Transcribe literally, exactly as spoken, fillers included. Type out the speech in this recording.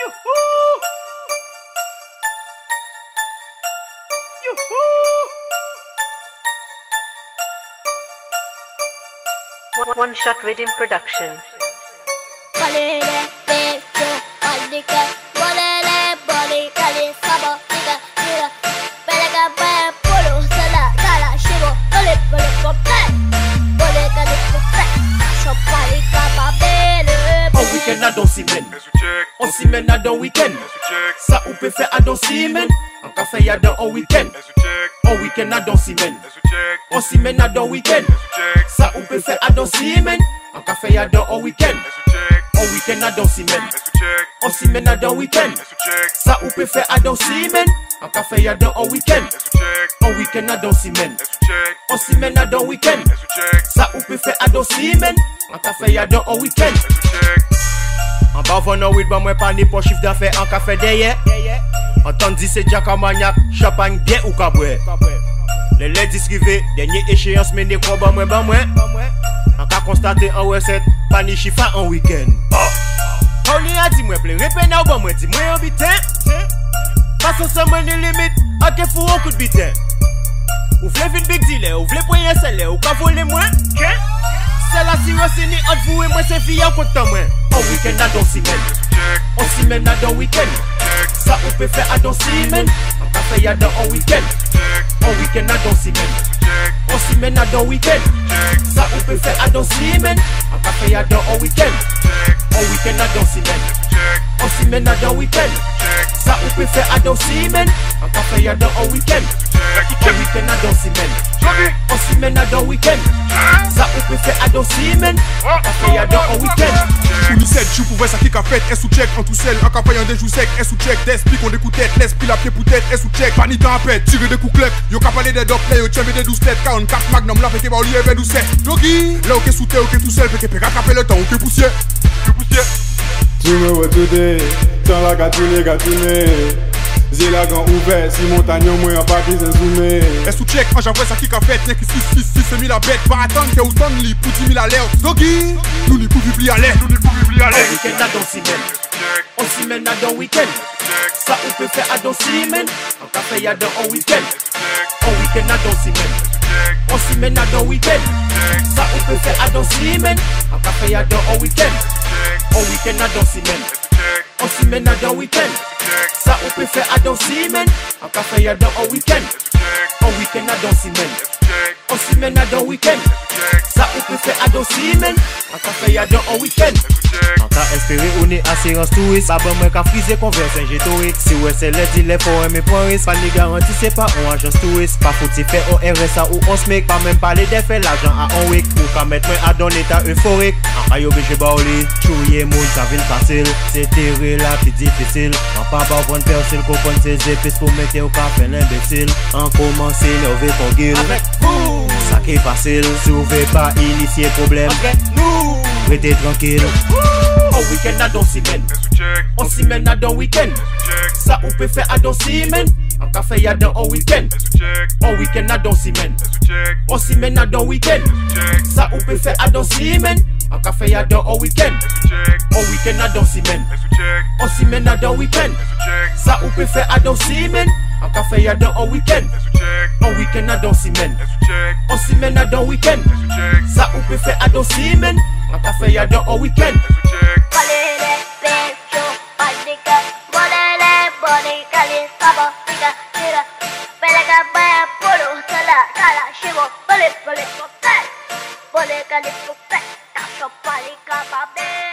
One Shot Rhythm Production. On week-end à dans semaine, on semaine à dans week-end. Ça ou peut faire à dans semaine, on café y a dans un week-end. On week-end à dans semaine, on semaine à dans week-end. Ça ou peut faire à dans semaine, on café y a dans un week-end. On week-end à dans semaine, on semaine à dans week-end. Ça ou peut faire à dans semaine, on café y a dans un week-end. On week-end à dans semaine, on semaine à dans week-end. Ça ou peut faire à dans semaine, on café y a dans un week-end. En bas venant oui bah moi pas ni pour chiffre d'affaires en café derrière. Entendu c'est Jack Armagnac, champagne bien ou caboué. Les ladies rivés, dernière échéance mais n'est quoi bah moi bah moi. En cas constaté en recette, pas ni chiffre en week-end. On y a dit moi plein répète ou bah moi dis moi en bitin. Parce que ça m'a ni limite, ok faut un coup de bitin. Ou v'lez vin big dealer, ou v'lez poigner celle ou ka voler moi. C'est la sirocini entre vous et moi c'est fille en compte moi. On week-end à dans semaine, on semaine à dans week-end. Ça on peut faire à dans semaine, on café y a dans un week-end. On week-end à dans semaine, on semaine à dans week-end. Ça on peut faire à dans semaine, on café y a dans un week-end. On week-end à dans semaine, on semaine à dans week-end. Ça on peut faire à dans semaine, on café y a dans un week-end. On week-end à dans semaine, on semaine à dans week-end. Ça on peut faire à dans semaine, on café y a dans un week-end. Pour nous sept jours pour voir ça qui a fait, est sous check en tout seul, en campagne des jours secs, est sous check, d'esprit qu'on écoute tête, l'esprit la pied pour tête, est sous check, panique en pète, tirer des coups clés, yo ka parler des dope play, yo tchembe des douze têtes, quarante-quatre magnum, la fête, bah, lié vers douze sept, doggy, là, ok, sous terre, ok, tout seul, fait que péra capé le temps, ok, poussière, ok, poussière. Tu me vois today, sans la gatine, gatine. J'ai la gant ouvert, si montagne moi en partie c'est zoomé. Est sous check, en j'envoie ça qui a fait, n'est que six six six c'est mis la bête, pas attendre que Houston li pour dix mille à l'air. Doggy, nous n'y pouvons plus à l'air, nous n'y pouvons plus à l'air. On week-end à dans semaine, on semaine à dans week-end. Ça on peut faire à dans semaine, on café y a dans un week-end. On week-end à dans semaine, on semaine à dans week-end. Ça on peut faire à dans semaine, on café y a dans un week-end. On week-end à dans semaine, on semaine à dans week-end. Ça on peut faire à dans semaine, on café y a dans un week-end. On week-end à dans semaine, on semaine à dans week-end. Ça on peut faire à dans semaine, on café y a dans un week-end. En cas espéré on est assurance touriste, pas bon moi qu'a frisé conversion gétorique. Si ouais c'est les dealers faut aimer point risque, pas ni garantie c'est pas on agence touriste. Pas faut faire au R S A ou on se make, pas même parler des faits l'argent à un week. Ou qu'à mettre moi à dans l'état euphorique. En ayo obligé baouli, chouye moun ça vient facile. C'est terré là plus difficile. En pas pas vendre persil comprendre ses épices pour mettre au café l'imbécile. En commencer nerveux pour gueule. Avec vous, ça qui est facile. Si vous voulez pas initier problème, nous restez tranquille. On week-end à dans semaine, on semaine à dans week-end. Ça on peut faire à dans semaine, on café y a dans un week-end. On week-end à dans semaine, on semaine à dans week-end. Ça on peut faire à dans semaine, on café y a dans un week-end. On week-end à dans semaine, on semaine à dans week-end. Ça on peut faire à dans semaine, on café y a dans un week-end. On week-end à dans semaine, on semaine à dans week-end. Ça on peut faire à dans semaine, on café y a dans un week-end. Boleh kali pupek, tak sopan ika babe.